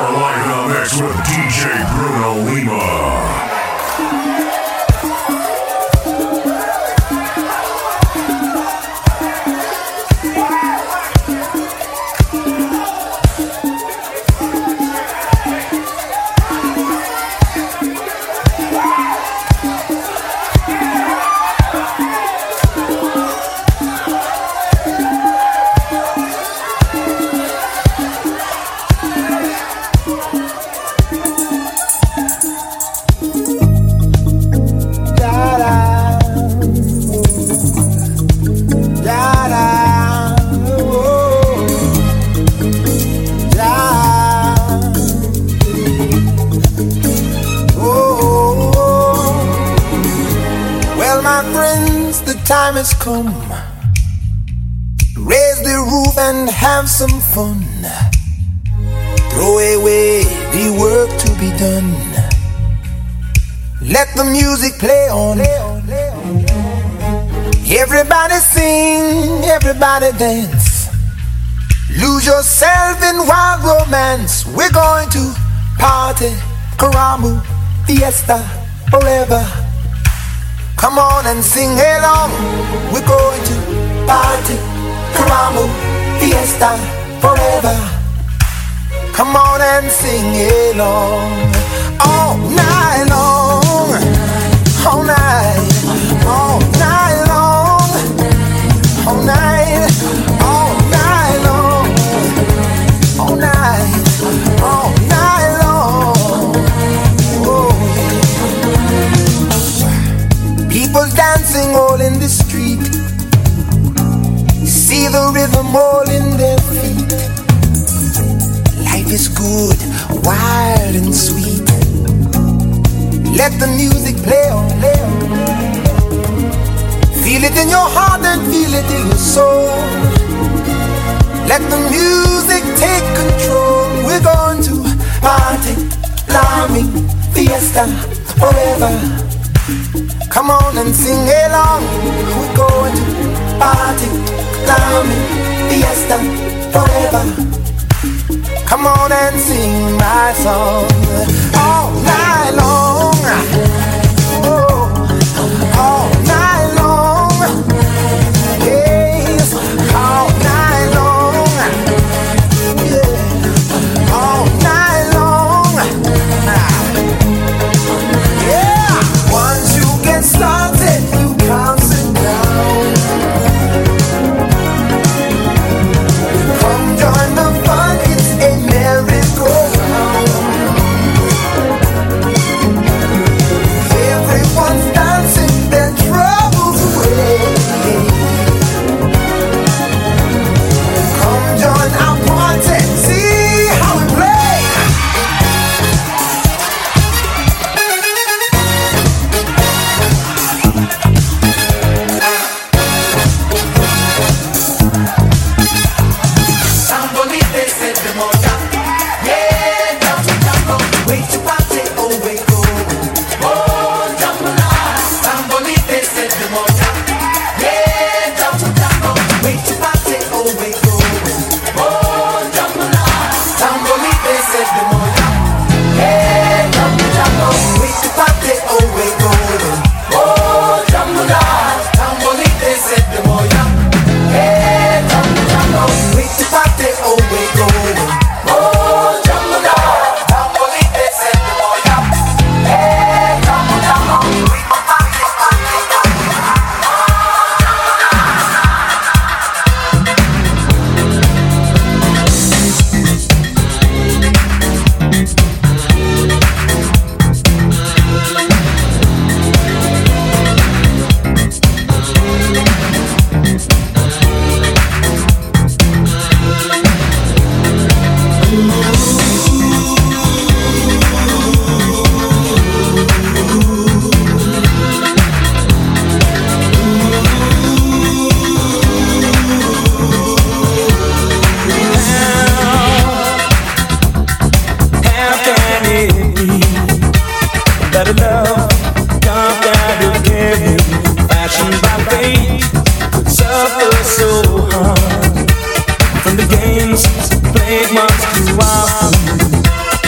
You're live in a mix with DJ Bruno Lima. Time has come, raise the roof and have some fun. Throw away the work to be done. Let the music play on. Everybody sing, everybody dance. Lose yourself in wild romance. We're going to party, Karamu, fiesta, forever. Come on and sing along. We're going to party, Karamu, fiesta, forever. Come on and sing along. All night long, all night, all night long, all night, all night long, all night, all night long. Oh, yeah. People dancing all in the street. See the rhythm all in their feet. Life is good, wild and sweet. Let the music play on. Feel it in your heart and feel it in your soul. Let the music take control. We're going to party, climbing, fiesta, forever. Come on and sing along. We're going to party, climbing, fiesta, forever. Come on and sing my song all night long. Oh, all night long. Yes, all night long. Yeah, all night long. Yeah, once you get started, you can't sit down. Come join the fun, it's a merry-go-round. Everyone's dancing their troubles away. Come join our party, see how we play. Sambolite se demoja, yeah, jambo, wait to party, oh wait go, oh jambo na. Sambolite se demoja, yeah, jambo, wait to party, oh wait go, oh jambo na. Sambolite se demoja, yeah, jambo, wait to party, oh wait go, oh jambo na. Sambolite se demoja, yeah, jambo, wait to party, oh wait go, oh jambo na. Sambolite se demoja, yeah, jambo, wait to party, oh wait go. How can it be that a love come down to give me, fashioned by fate, could suffer so hard from the games played much too often?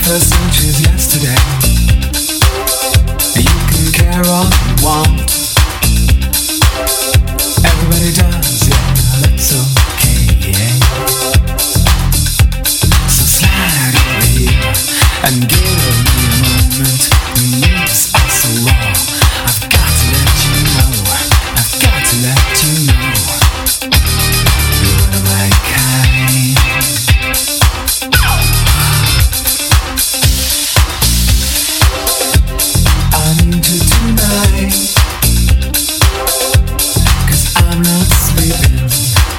first inches yesterday. You can care all you want. Everybody does, yeah, that's okay, yeah. So slide over here and give me a moment. The moves are so raw. I've got to let you know. I've got to let you know. You're my kind. I need you tonight, 'cause I'm not sleeping.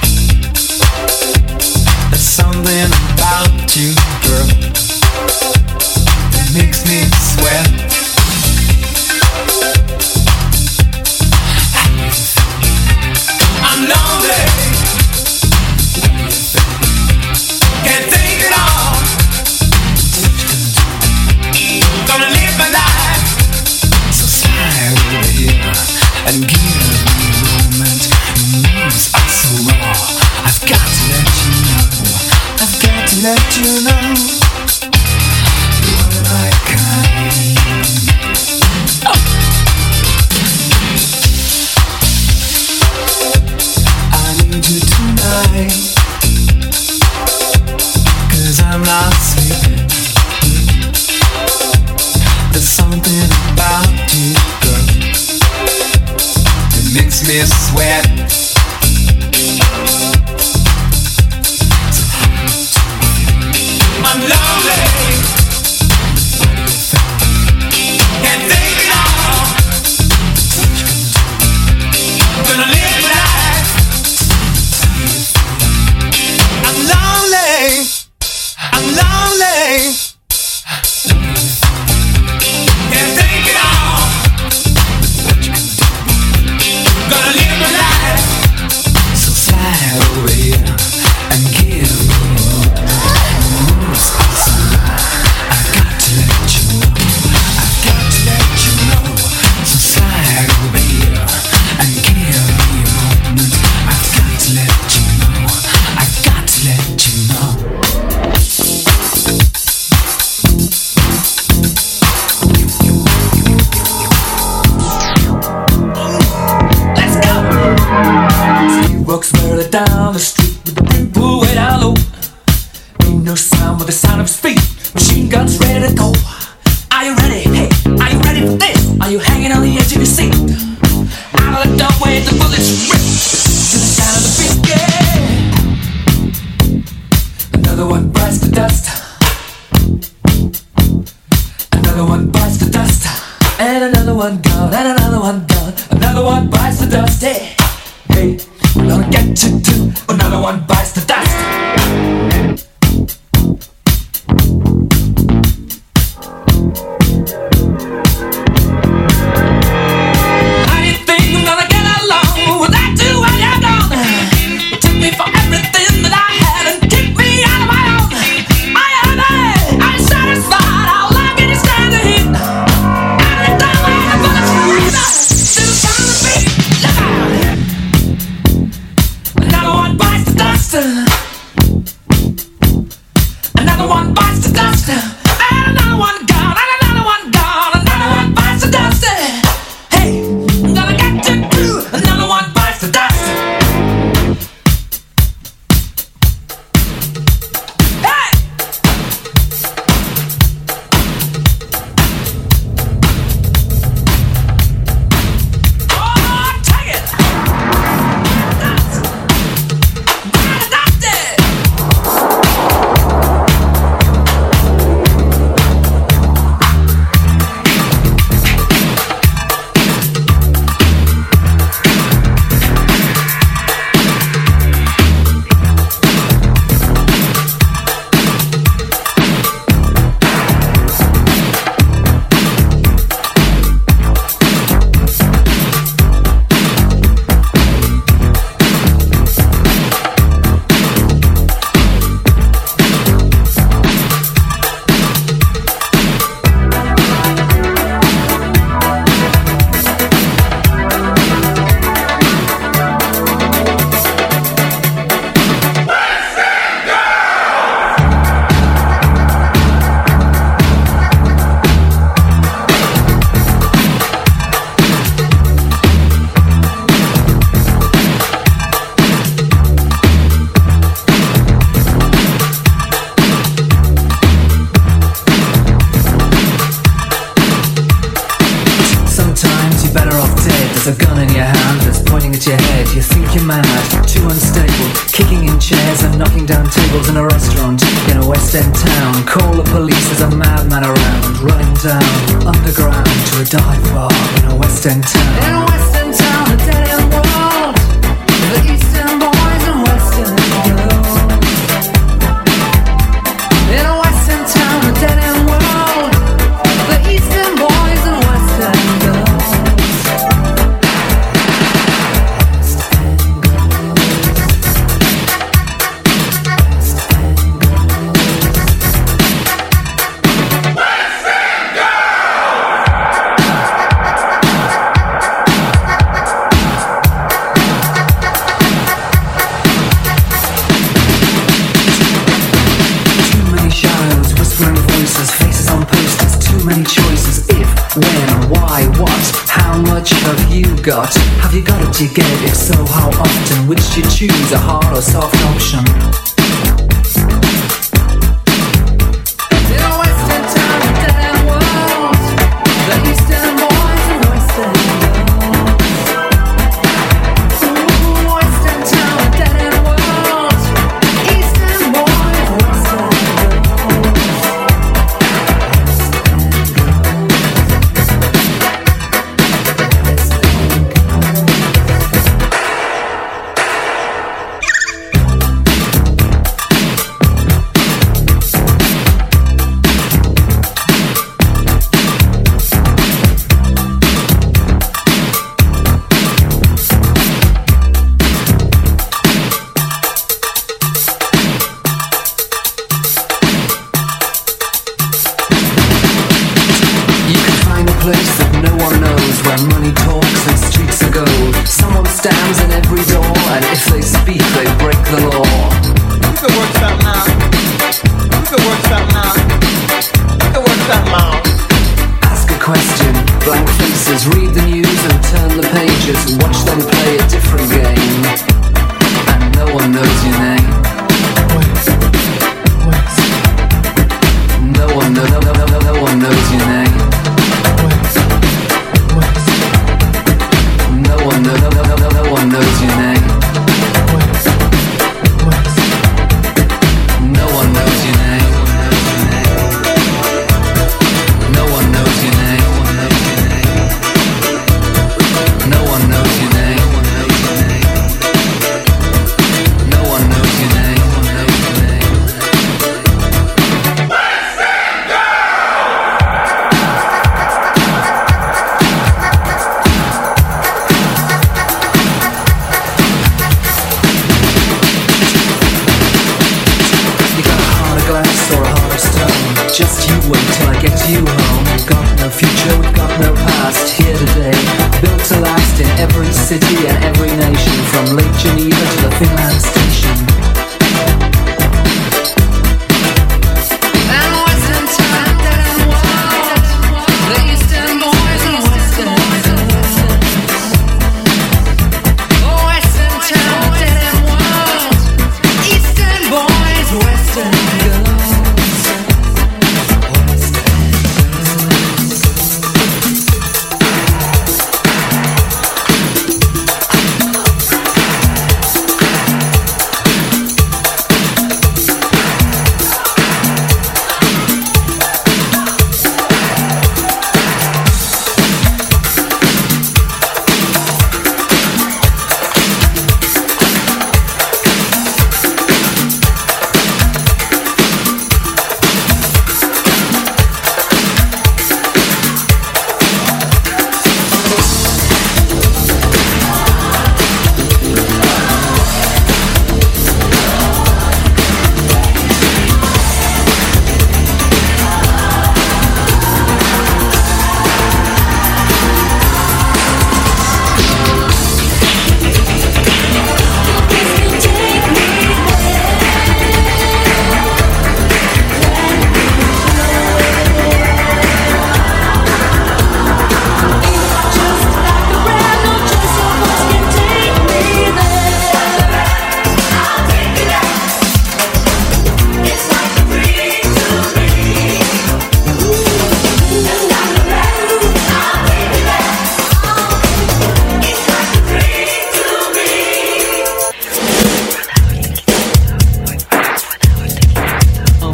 There's something about you, girl, that makes me sweat. I'm lonely, can't take it all. Gonna live my life. So slide over here and give me a moment. Your moves are so raw. I've got to let you know. I've got to let you know. You're my kind. I need you tonight, 'cause I'm not sleeping. There's something about you, girl, that makes me sweat. So I'm lonely, can't take it all. Gonna live life. I'm lonely, I'm lonely. Can't take it all. Gonna live my life. So slide over here and give me more. Moves are so loud. I got to let you know. I got to let you know. So slide over here and give me a moment. I've got to let you know. I got to let you know. Let's go. He walks barely down the street with the brim pulled way down low. Ain't no sound but the sound of his feet. Machine guns ready to go. Are you ready? Hey, are you ready for this? Are you hanging on the edge of your seat? Out of the doorway, the bullets rip to the sound of the beat. Yeah. Another one bites the dust. Another one bites the dust. And another one gone, and another one gone. Another one bites the dust. Hey, hey, we're gonna get you too. Another one bites the dust. How do you think I'm gonna get along without you when you're gone? You took me for everything that I had and kicked me out of my own. I am satisfied. How long can you stand the heat? Every time I have a breathe, to the sound of the beat. Look out! Another one bites the dust. hit your head. You think you're mad, too unstable, kicking in chairs and knocking down tables in a restaurant in a West End town. Call the police, there's a madman around, running down underground to a dive bar in a West End town. In a West End town, a dead end world, the Eastern boys and Western girls. In a West End town, a dead end world, the Eastern boys and Western girls. Got? Have you got it to get it? If so, how often? Which do you choose, a hard or soft option? In a Western town, a dead end world, the Eastern boys and Western girls. Ooh, Western town, a dead end world, Eastern boys, Western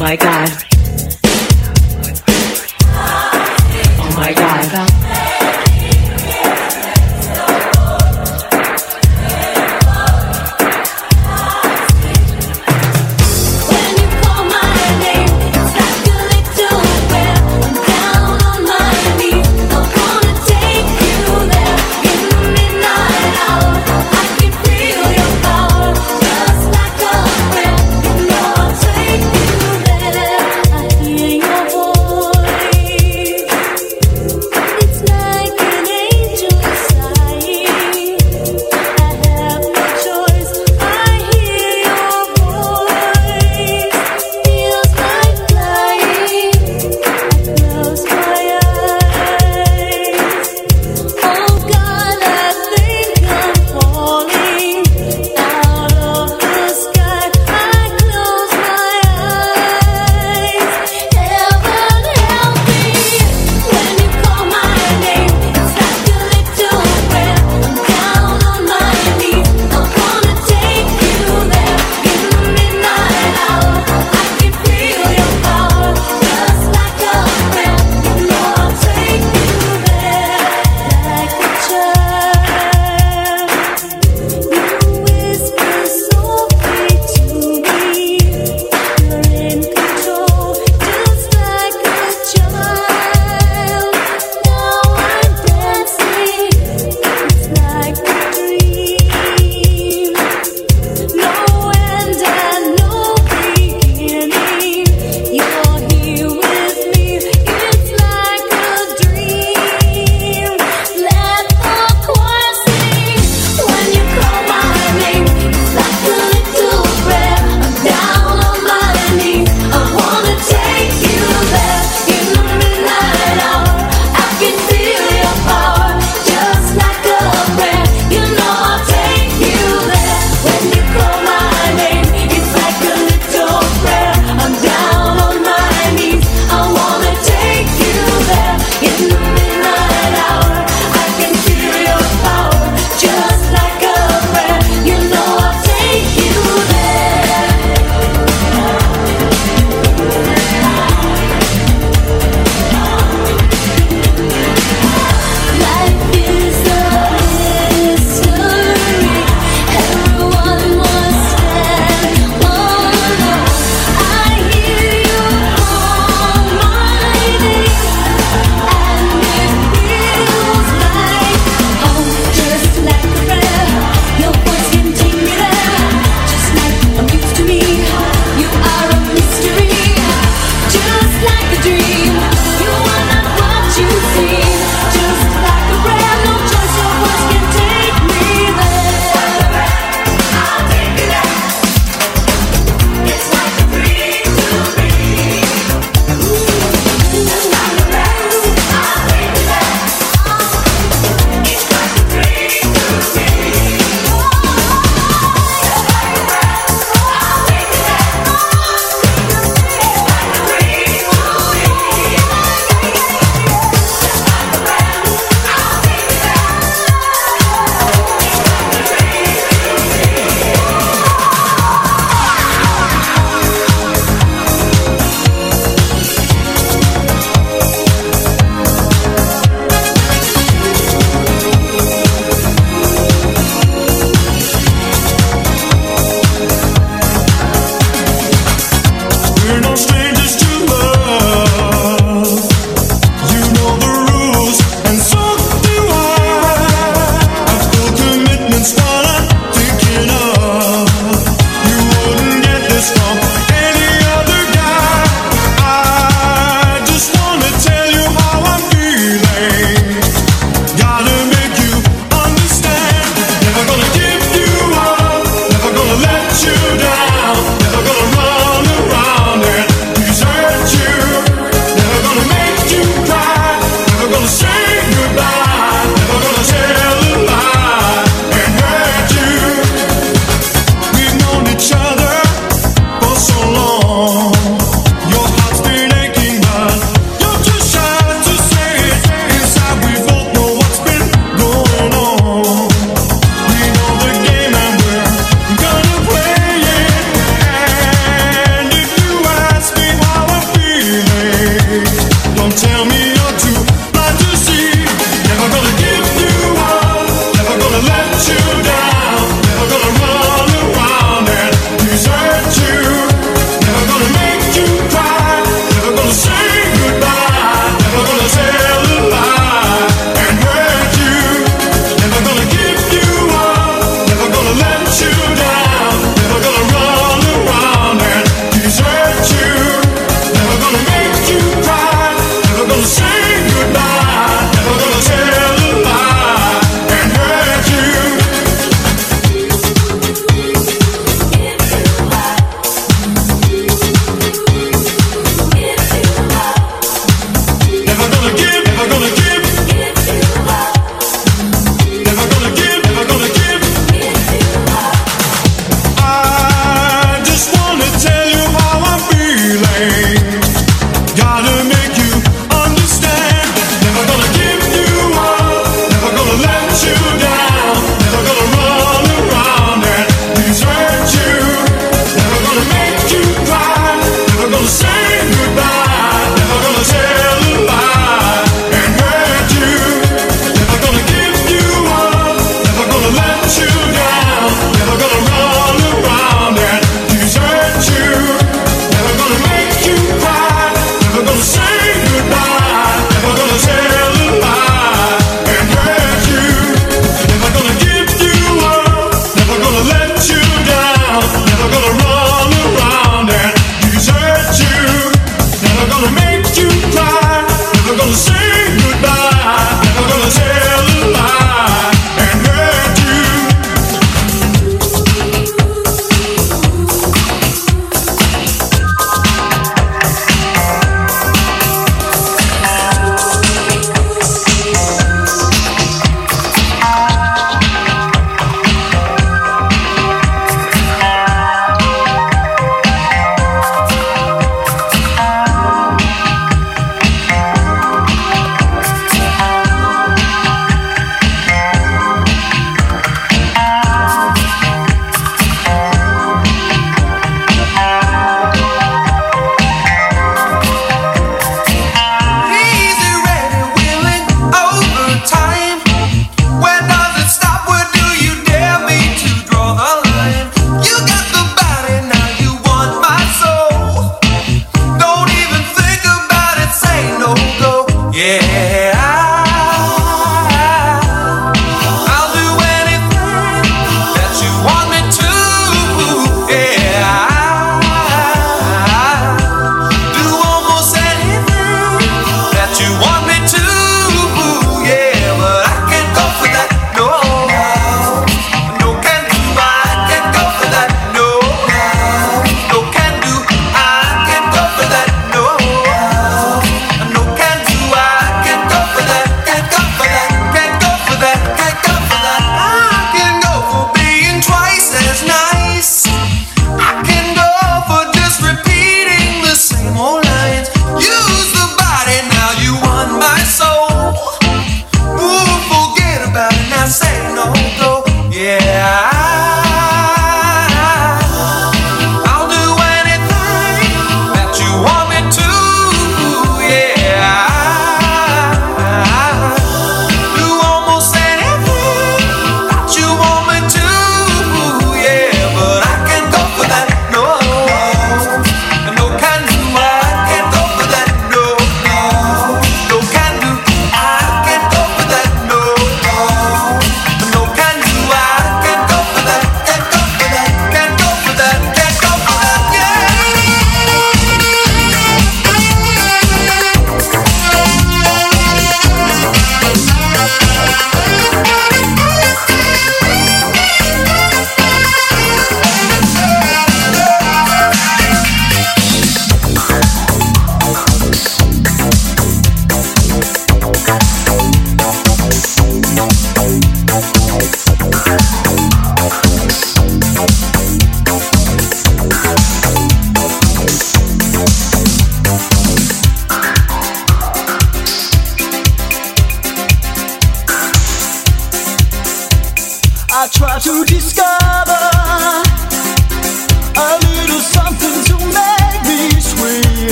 my God. Oh my God. It's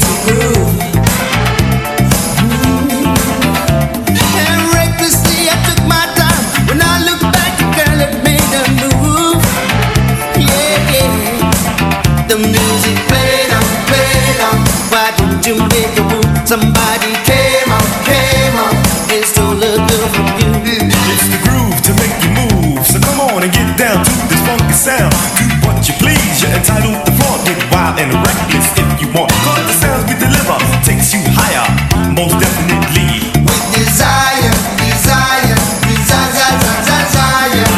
Somebody came up and stole a girl from you. It's the groove to make you move. So come on and get down to this funky sound. Do what you please, you're entitled to flaunt. Get wild and reckless if you want. Cause the sounds we deliver takes you higher, most definitely. With desire, desire, desire, desire.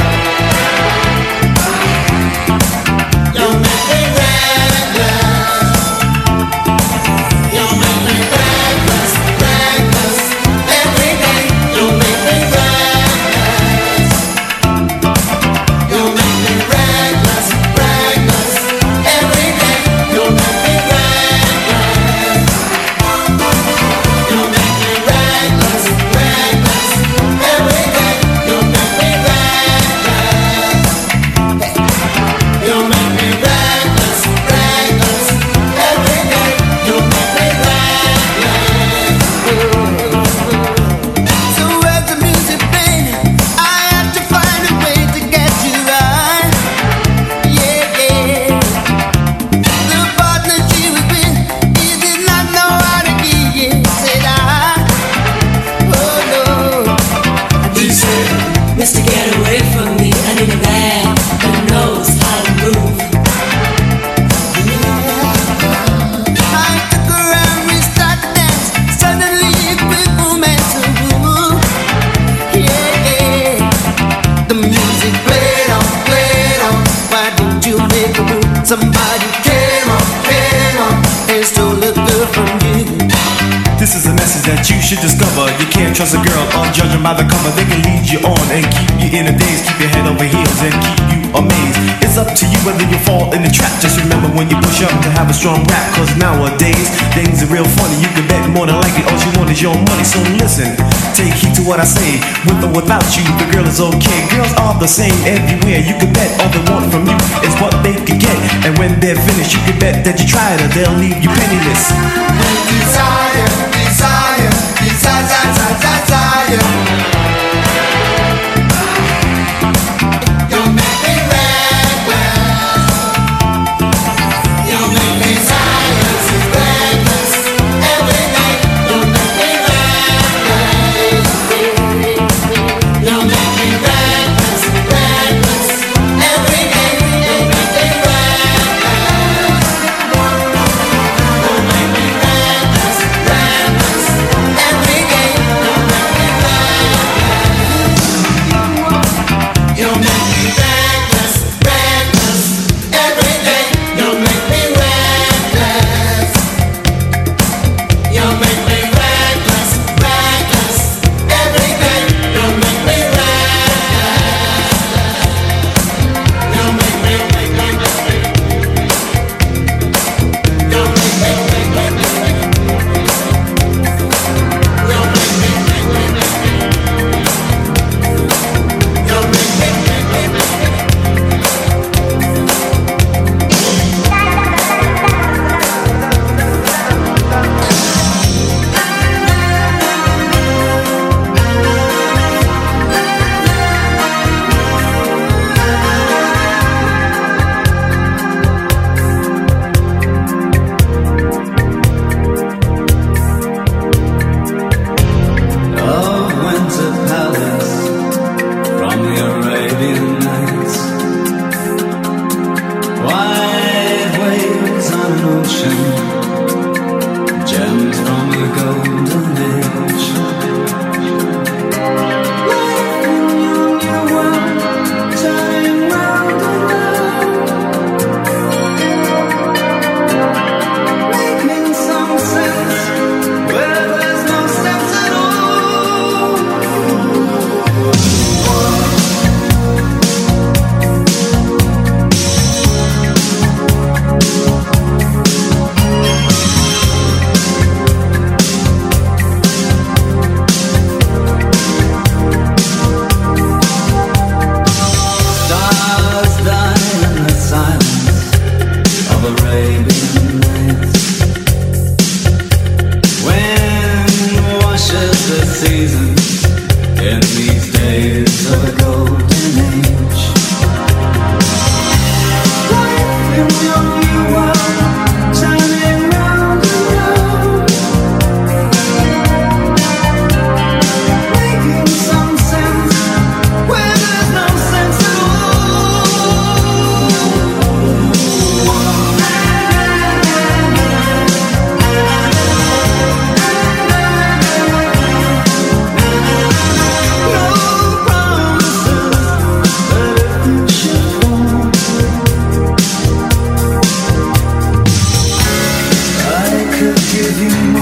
You make me reckless. You make me reckless, reckless. Every day you make me reckless. You make me reckless, reckless. Every day you make me reckless. You make me reckless, reckless. Every day you make me reckless. You make me reckless, reckless. Every day you make me reckless. So as the music played, I had to find a way to get you right. Yeah, yeah. The partner she was with, he did not know how to give it. Said oh no. He said, Mister, get away from me. I need a man that knows how to move. I took her and we started to dance. Suddenly a quick momentum move. Yeah, the music played on, played on. Why didn't you make a move? Somebody came up and stole a girl from you. This is a message that you should discover. You can't trust a girl on judging by the cover. They can lead you on and keep you in a daze, keep your head over heels and keep you amazed. It's up to you whether you fall in the trap. Just remember when you push up to have a strong rap. Cause nowadays things are real funny. You can bet more than likely all you want is your money. So listen, take heed to what I say. With or without you, the girl is okay. Girls are the same everywhere. You can bet all they want from you is what they can get. And when they're finished, you can bet that you tried her, they'll leave you penniless. Desire, desire, desire, desire. You make me reckless. You make me reckless, reckless. Every day you make me reckless. You make me reckless, reckless. Every day you make me reckless. You make me reckless, reckless. Every day you make me reckless. give you